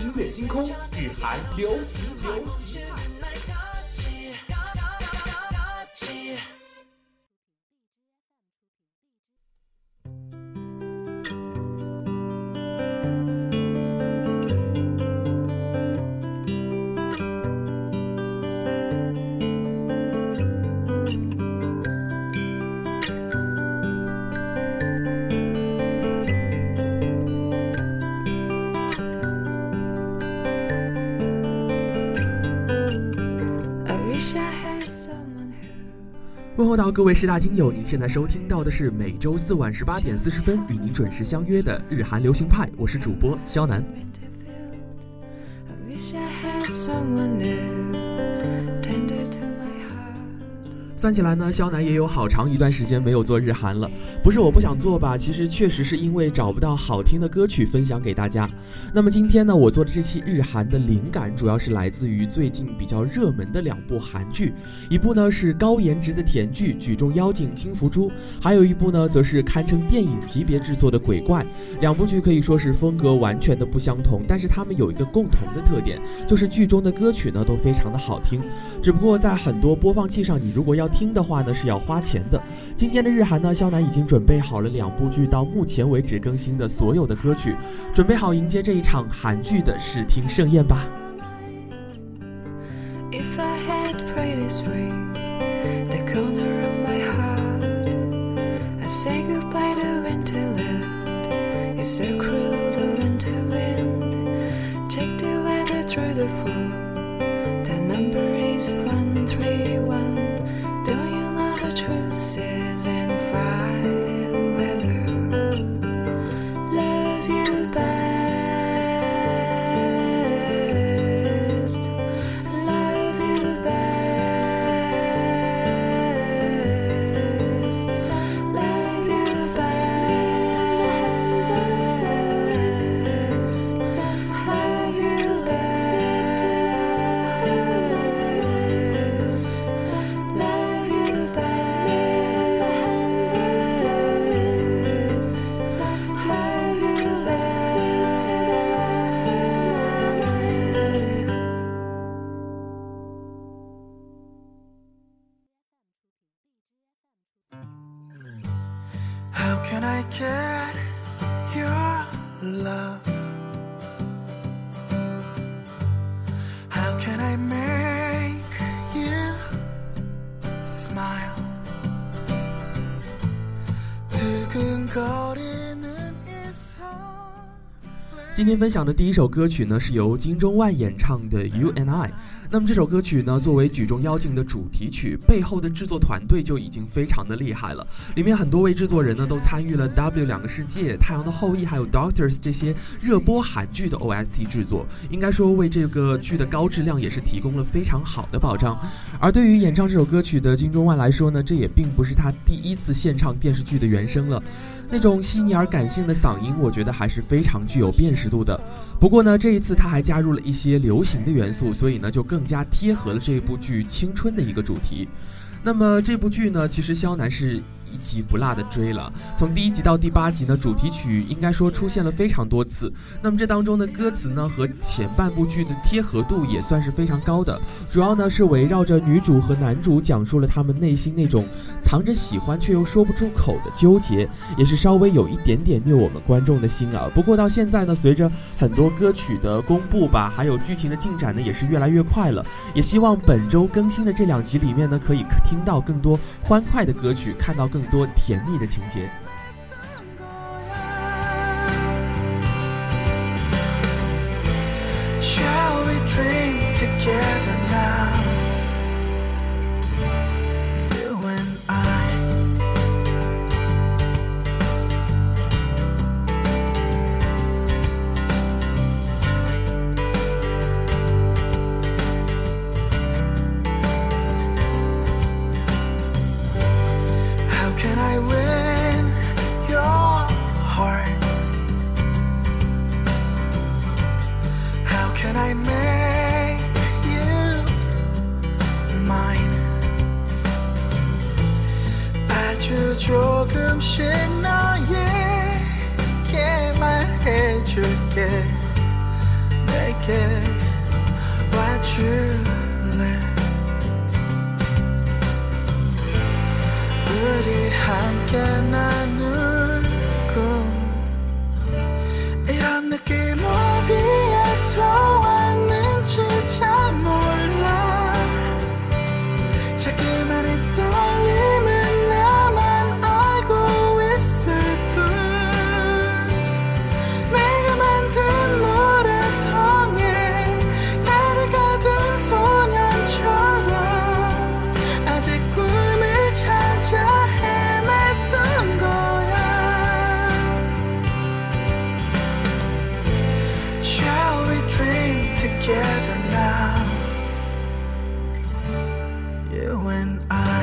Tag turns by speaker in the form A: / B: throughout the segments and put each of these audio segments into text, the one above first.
A: 乐星空，日韩流行派。
B: 问候到各位师大听友，您现在收听到的是每周四晚18点40分与您准时相约的日韩流行派，我是主播肖楠。算起来呢，肖楠也有好长一段时间没有做日韩了。不是我不想做吧，其实确实是因为找不到好听的歌曲分享给大家。那么今天呢，我做的这期日韩的灵感主要是来自于最近比较热门的2部韩剧，一部呢是高颜值的甜剧《举重妖精金福珠》，还有一部呢则是堪称电影级别制作的《鬼怪》。2部剧可以说是风格完全的不相同，但是它们有一个共同的特点，就是剧中的歌曲呢都非常的好听。只不过在很多播放器上，你如果要听的话呢是要花钱的。今天的日韩呢，肖楠已经准备好了2部剧到目前为止更新的所有的歌曲，准备好迎接这一场韩剧的视听盛宴吧。If I had prayed this ring, the corner of my heart, I say goodbye to winterland. It's so cruel, the winter wind. Take the weather through the fall. The number is 131.Don't you know the truth is in fine weather? Love you best. Love you best. Love you best. Love you best.How can I get your love? How can I make you smile? 두근거리는 이 손。今天分享的第一首歌曲呢，是由金钟万演唱的《You and I》。那么这首歌曲呢，作为《举重妖精》的主题曲，背后的制作团队就已经非常的厉害了。里面很多位制作人呢，都参与了《W 两个世界》、《太阳的后裔》还有《Doctors》这些热播韩剧的 OST 制作，应该说为这个剧的高质量也是提供了非常好的保障。而对于演唱这首歌曲的金钟万来说呢，这也并不是他第一次献唱电视剧的原声了。那种细腻而感性的嗓音，我觉得还是非常具有辨识度的。不过呢，这一次他还加入了一些流行的元素，所以呢就更加贴合了这部剧青春的一个主题。那么这部剧呢，其实肖楠是一集不落的追了，从第1集到第8集呢，主题曲应该说出现了非常多次。那么这当中的歌词呢，和前半部剧的贴合度也算是非常高的，主要呢是围绕着女主和男主讲述了他们内心那种藏着喜欢却又说不出口的纠结，也是稍微有一点点虐我们观众的心啊。不过到现在呢，随着很多歌曲的公布吧，还有剧情的进展呢，也是越来越快了。也希望本周更新的这2集里面呢，可以听到更多欢快的歌曲，看到更多甜蜜的情节。Shall we dream together now? You and I. How can I win your heart? How can I make you mine? 아주 조금씩 너에게 말해줄게. 내게
C: 내게 와줄래 우리 함께 나누고 이런 느낌 어디에서 왔는지 잘 몰라 자기만의 떨림은 나만 알고 있을 뿐 내가 만든 노래송에 나를 가둔 소년처럼 아직 꿈을 찾아 헤맸던 거야 Shall we dream together now You and I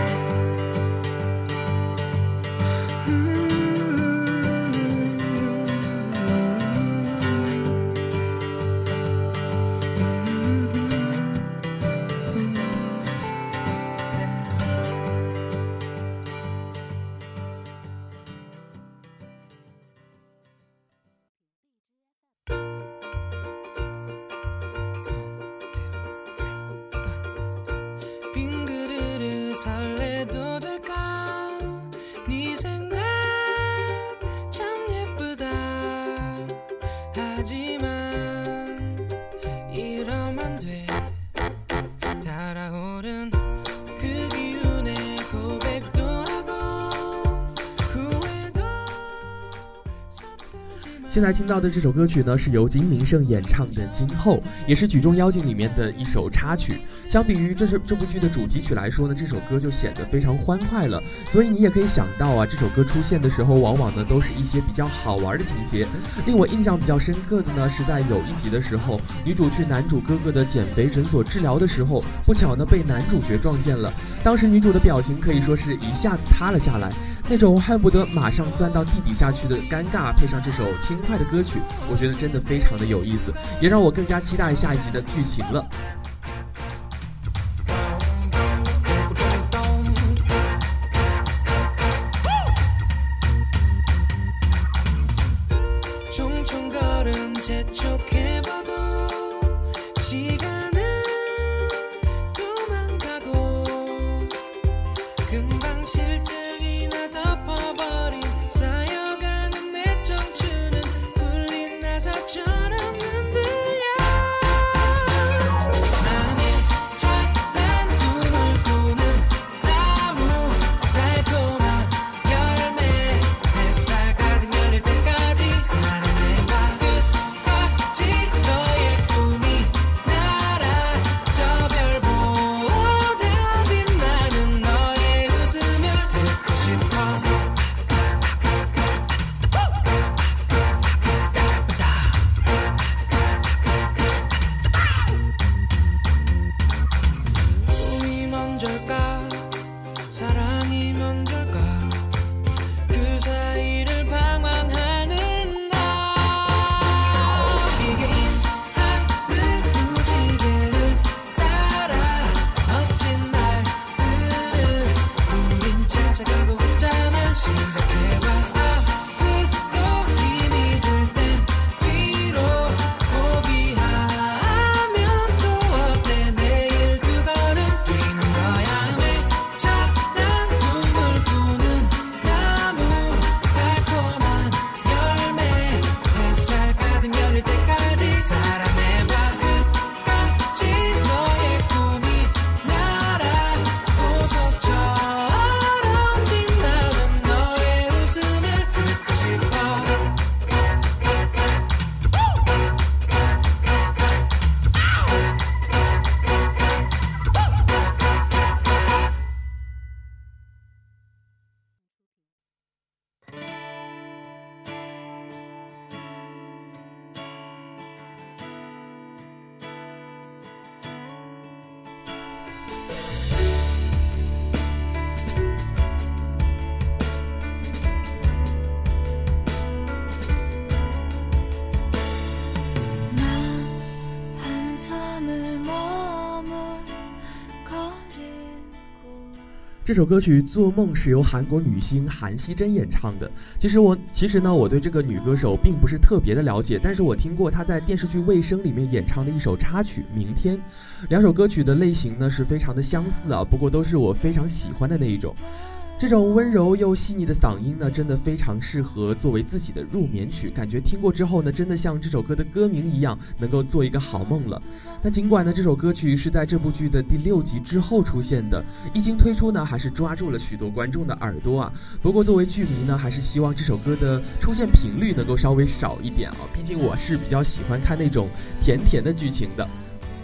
D: 빈 그릇을 설레도 될까 네 생각 참 예쁘다 하지만 이러면 돼 달아오른 그 기운에 고백도 하고 후회도
B: 现在听到的这首歌曲呢，是由金明胜演唱的《今后》，也是《举重妖精》里面的一首插曲。相比于这部剧的主题曲来说呢，这首歌就显得非常欢快了。所以你也可以想到啊，这首歌出现的时候，往往呢都是一些比较好玩的情节。令我印象比较深刻的呢，是在有一集的时候，女主去男主哥哥的减肥诊所治疗的时候，不巧呢被男主角撞见了。当时女主的表情可以说是一下子塌了下来。那种恨不得马上钻到地底下去的尴尬，配上这首轻快的歌曲，我觉得真的非常的有意思，也让我更加期待下一集的剧情了。 这首歌曲《做梦》是由韩国女星韩熙珍演唱的。其实呢，我对这个女歌手并不是特别的了解，但是我听过她在电视剧《卫生》里面演唱的一首插曲《明天》。两首歌曲的类型呢是非常的相似啊，不过都是我非常喜欢的那一种。这种温柔又细腻的嗓音呢，真的非常适合作为自己的入眠曲，感觉听过之后呢，真的像这首歌的歌名一样，能够做一个好梦了。那尽管呢，这首歌曲是在这部剧的第6集之后出现的，一经推出呢，还是抓住了许多观众的耳朵啊。不过作为剧迷呢，还是希望这首歌的出现频率能够稍微少一点啊，毕竟我是比较喜欢看那种甜甜的剧情的。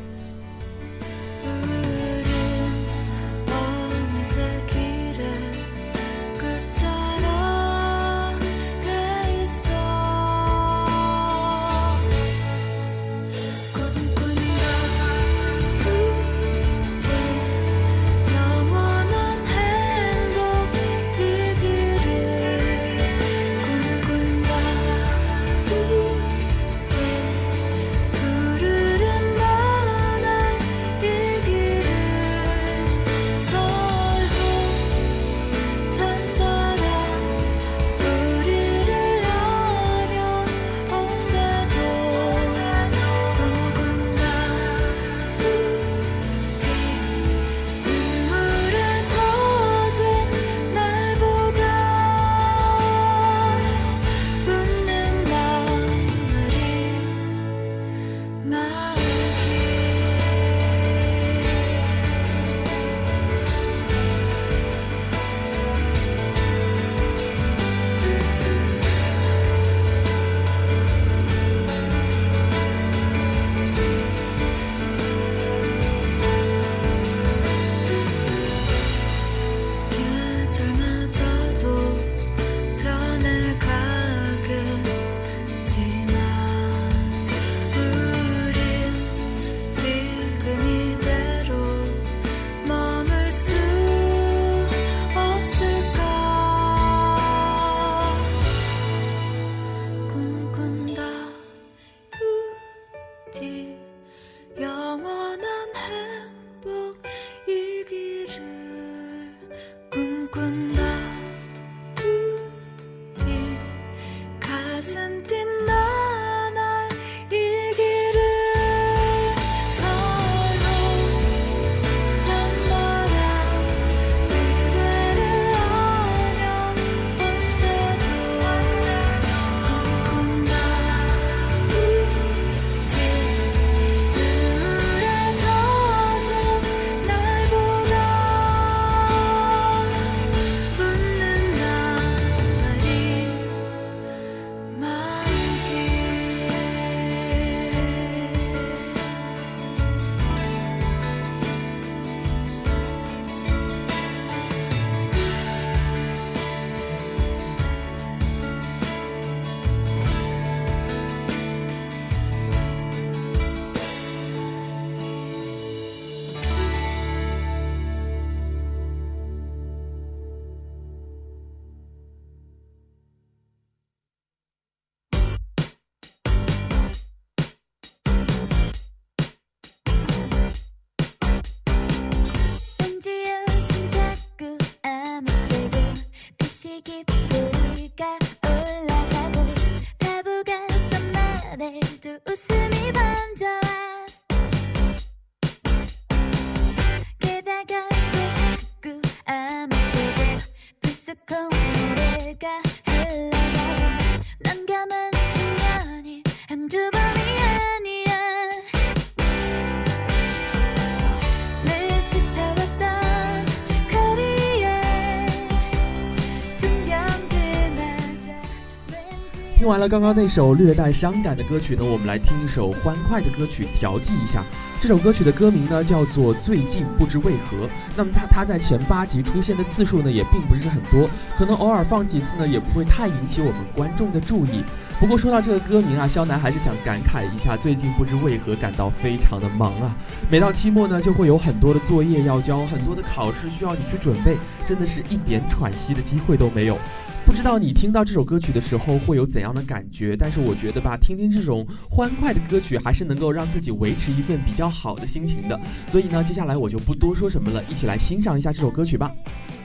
B: 听完了刚刚那首略带伤感的歌曲呢，我们来听一首欢快的歌曲调剂一下。这首歌曲的歌名呢叫做《最近不知为何》。那么它在前8集出现的次数呢也并不是很多，可能偶尔放几次呢也不会太引起我们观众的注意。不过说到这个歌名啊，肖楠还是想感慨一下，最近不知为何感到非常的忙啊。每到期末呢就会有很多的作业要交，很多的考试需要你去准备，真的是一点喘息的机会都没有。 不知道你听到这首歌曲的时候会有怎样的感觉，但是我觉得吧，听听这种欢快的歌曲还是能够让自己维持一份比较好的心情的。所以呢，接下来我就不多说什么了，一起来欣赏一下这首歌曲吧。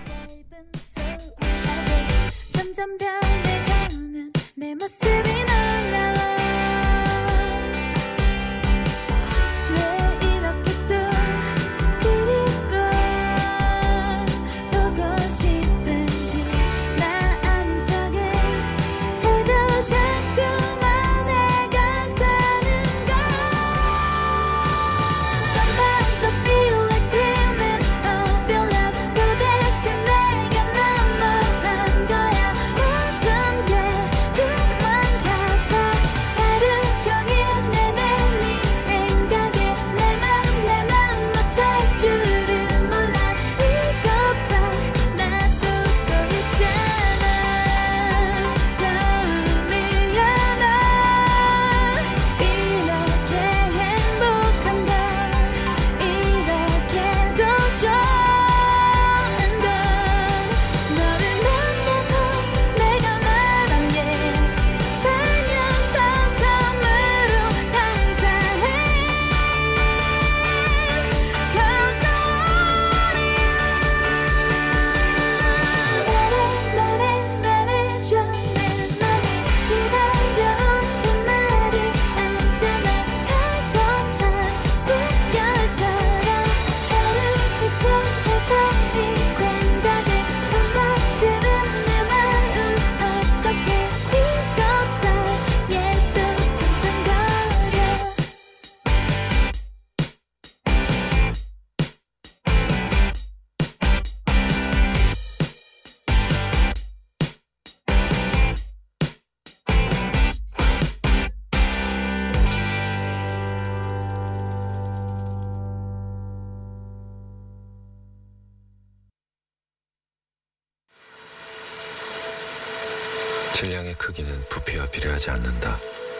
E: 질량의 크기는 부피와 비례하지 않는다.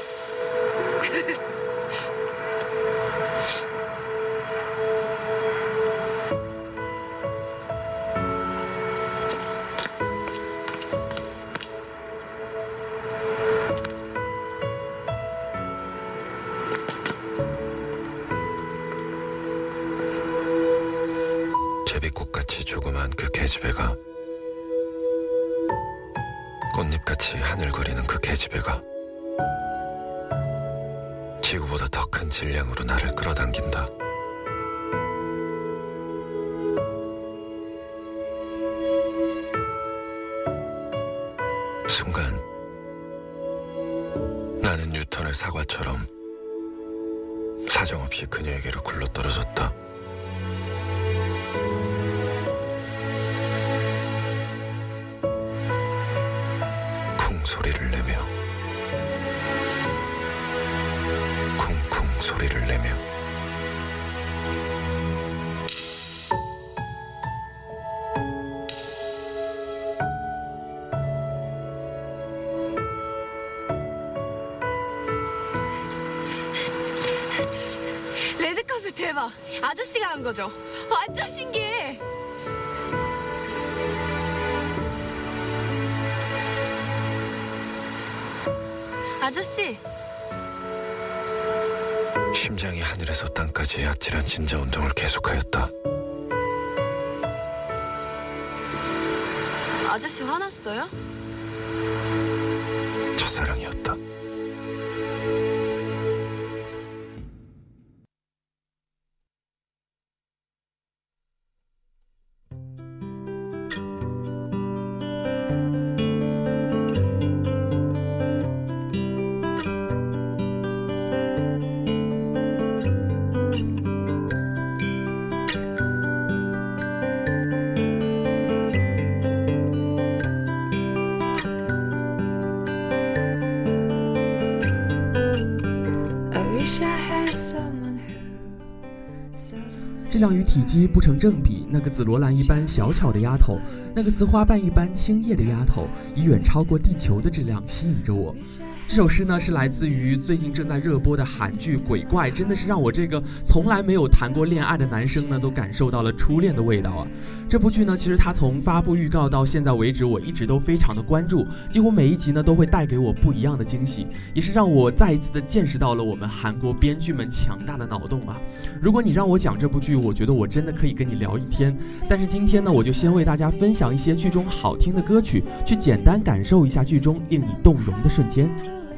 E: 제비꽃같이 조그만 그 계집애가, 꽃잎같이 하늘거리는 그 계집애가 지구보다 더 큰 질량으로 나를 끌어당긴다. 순간 나는 뉴턴의 사과처럼 사정없이 그녀에게로 굴러떨어졌다. 소리를 내며, 쿵쿵 소리를 내며
F: 레드카펫 대박! 아저씨가 한 거죠? 완전 신기해! 아저씨!
E: 심장이 하늘에서 땅까지 아찔한 진자 운동을 계속하였다.
F: 아저씨 화났어요?
E: 첫사랑이었다.
B: 质量与体积不成正比，那个紫罗兰一般小巧的丫头，那个似花瓣一般轻叶的丫头，以远超过地球的质量吸引着我。这首诗呢是来自于最近正在热播的韩剧《鬼怪》，真的是让我这个从来没有谈过恋爱的男生呢都感受到了初恋的味道啊。这部剧呢，其实它从发布预告到现在为止，我一直都非常的关注，几乎每一集呢都会带给我不一样的惊喜，也是让我再一次的见识到了我们韩国编剧们强大的脑洞啊。如果你让我讲这部剧，我觉得我真的可以跟你聊一天，但是今天呢，我就先为大家分享一些剧中好听的歌曲，去简单感受一下剧中令你动容的瞬间。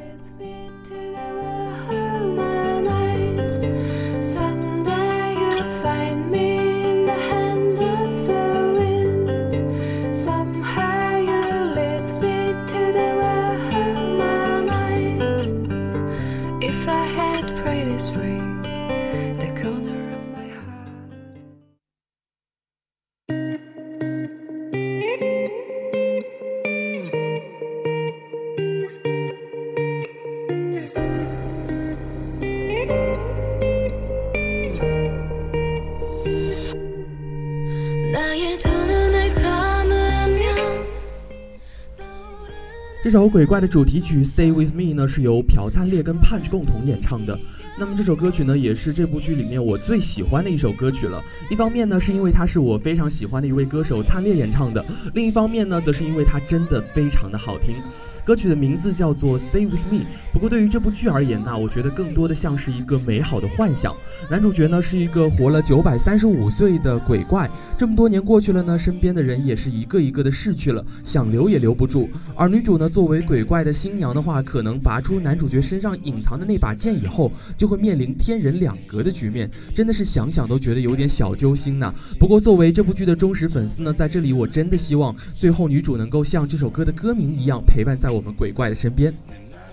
B: 这首鬼怪的主题曲 Stay With Me 呢是由朴灿烈跟 Punch 共同演唱的。那么这首歌曲呢也是这部剧里面我最喜欢的一首歌曲了。一方面呢是因为它是我非常喜欢的一位歌手灿烈演唱的，另一方面呢则是因为它真的非常的好听。歌曲的名字叫做 Stay With Me， 不过对于这部剧而言呢，我觉得更多的像是一个美好的幻想。男主角呢是一个活了935岁的鬼怪，这么多年过去了呢，身边的人也是一个一个的逝去了，想留也留不住。而女主呢作为鬼怪的新娘的话，可能拔出男主角身上隐藏的那把剑以后，就会面临天人两隔的局面，真的是想想都觉得有点小揪心呢。不过作为这部剧的忠实粉丝呢，在这里我真的希望最后女主能够像这首歌的歌名一样，陪伴在我们鬼怪的身边。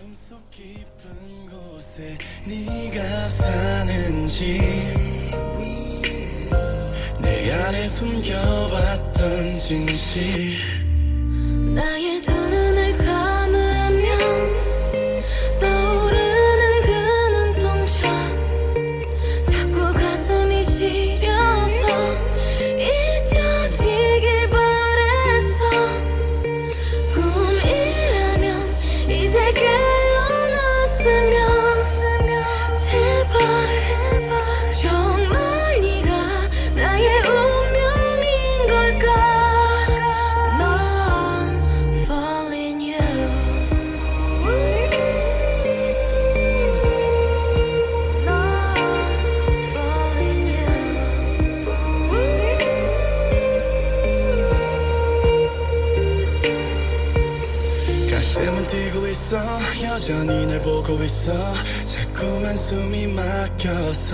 C: 여전히 널 보고 있어 자꾸만 숨이 막혀서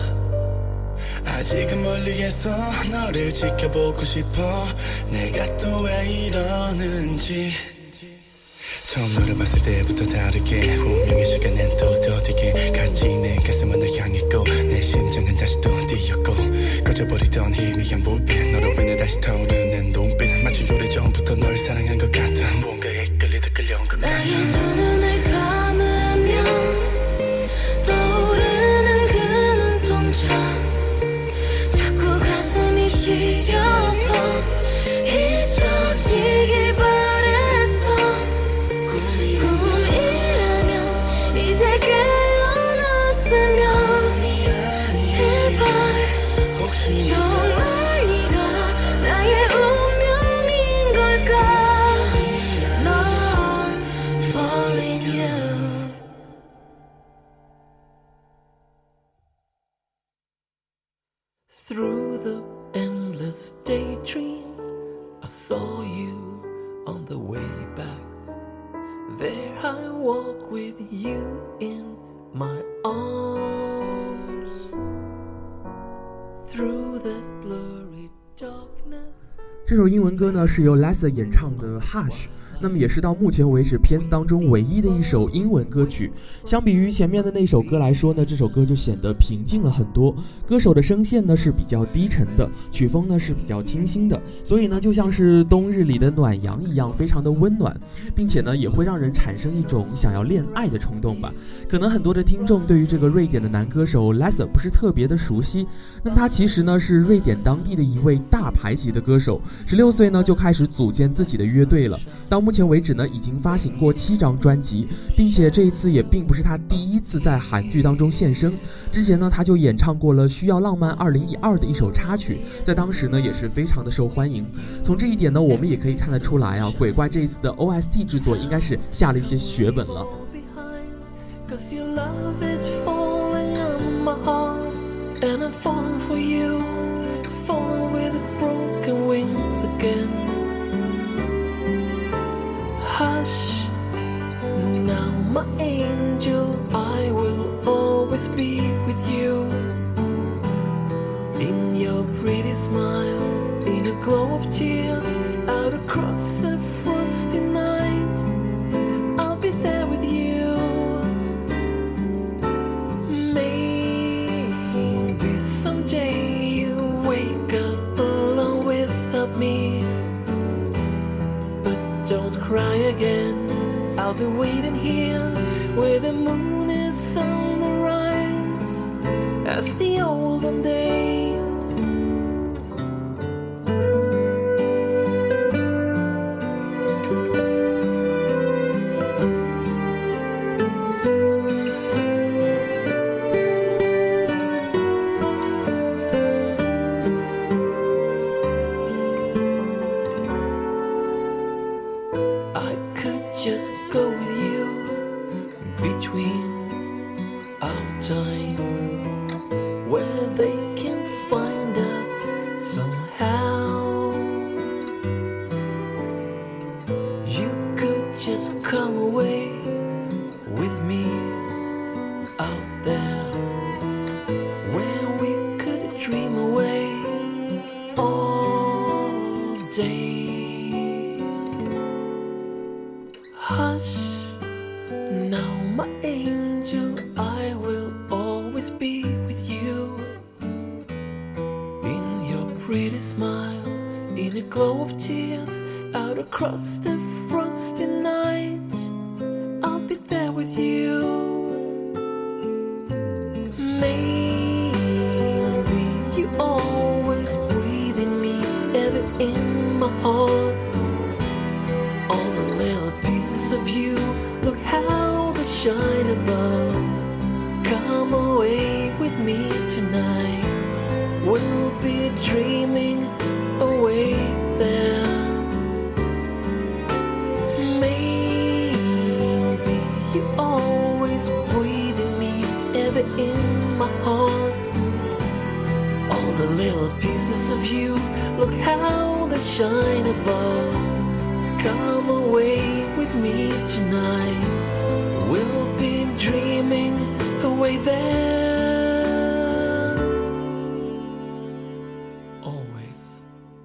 C: 아직은 멀리에서 너를 지켜보고 싶어 내가 또 왜 이러는지 처음 너를 봤을 때부터 다르게 운명의 시간엔 또 더디게 같이 내 가슴은 널 향했고 내 심장은 다시 또 뛰었고 꺼져버리던 희미한 불빛 너로 인해 다시 타오르는 눈빛 마치 오래전부터 널 사랑한 것 같아 무언가에 끌리다 끌려온 것 같아 나의 두 눈을 감으면 떠오르는 그 눈동자 자꾸 가슴이 시려서 잊혀지길 바랬어 꿈이라면 이제 깨어났으면 제발 혹시 정말 네가 나의 운명인 걸까 넌 falling you
D: Through the endless daydream, I saw you on the way back. There I walk with you in my arms. Through the blurry darkness.
B: 这首英文歌呢是由 Lisa 演唱的 Hush。 那么也是到目前为止片子当中唯一的一首英文歌曲。相比于前面的那首歌来说呢，这首歌就显得平静了很多。歌手的声线呢是比较低沉的，曲风呢是比较清新的，所以呢就像是冬日里的暖阳一样，非常的温暖，并且呢也会让人产生一种想要恋爱的冲动吧。可能很多的听众对于这个瑞典的男歌手 Lasse 不是特别的熟悉，那么他其实呢是瑞典当地的一位大牌级的歌手，16岁呢就开始组建自己的乐队了，到目前为止呢已经发行过7张专辑，并且这一次也并不是他第一次在韩剧当中现身，之前呢他就演唱过了《需要浪漫2012》的一首插曲，在当时呢也是非常的受欢迎。从这一点呢我们也可以看得出来啊，鬼怪这一次的 OST 制作应该是下了一些血本了。
D: Cause your love is falling on my heart, and I'm falling for you, falling with broken wings again. Hush, now my angel, I will always be with you. In your pretty smile, in a glow of tears, out across the frosty night, I'll be there with you.Someday you wake up alone without me, but don't cry again. I'll be waiting here where the moon is on the rise, as the olden days. Just go with you between our time, where they can find us somehow. You could just come away with me out there, where we could dream away all day.Hush, now my angel, I will always be with you. In your pretty smile, in a glow of tears, out across the frosty night, I'll be there with you. Maybe you always breathe in me, ever in my heart.All the little pieces of you, look how they shine above. Come away with me tonight, we'll be dreaming away there. Maybe you always breathe in me, ever in my heart. All the little pieces of you, look how they shine above.Come away with me tonight, we'll be dreaming away there, always.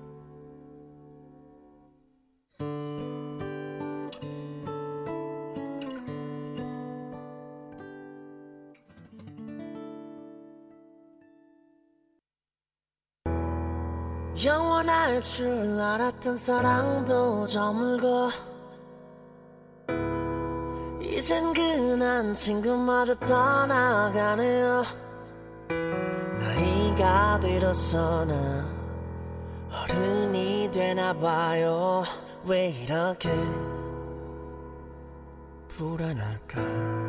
G: 영원할 줄 알았던 사랑도 저물고 이젠 그난 친구마저 떠나가네요. 나이가 들어서는 어른이 되나봐요. 왜 이렇게 불안할까.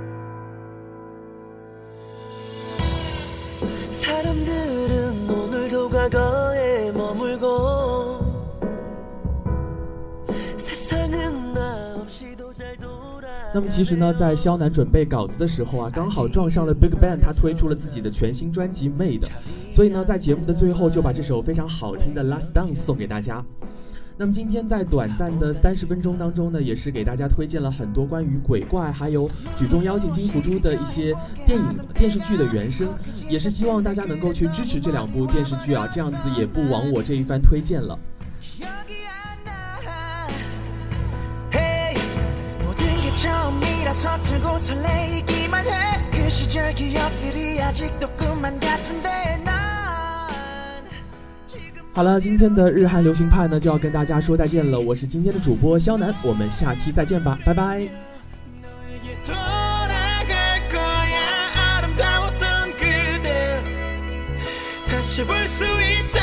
G: 사람들은 오늘도 과거에 머물고 세상은 나 없이도 잘 돌아。
B: 那么其实呢，在肖楠准备稿子的时候啊，刚好撞上了 BigBang， 他推出了自己的全新专辑《Made》，所以呢，在节目的最后就把这首非常好听的《Last Dance》送给大家。那么今天在短暂的30分钟当中呢，也是给大家推荐了很多关于鬼怪还有举重妖精金福珠的一些电视剧的原声，也是希望大家能够去支持这2部电视剧啊，这样子也不枉我这一番推荐了。
G: Hey 처음이라서 서툴고 설레이기만 해 그 시절 기억들이 아직도 꿈만 같은데 난 지금
B: 好了，今天的日韩流行派呢就要跟大家说再见了，我是今天的主播肖楠，我们下期再见吧，拜拜。
C: 돌아갈 거야 아름다웠던 그대 다시 볼 수 있다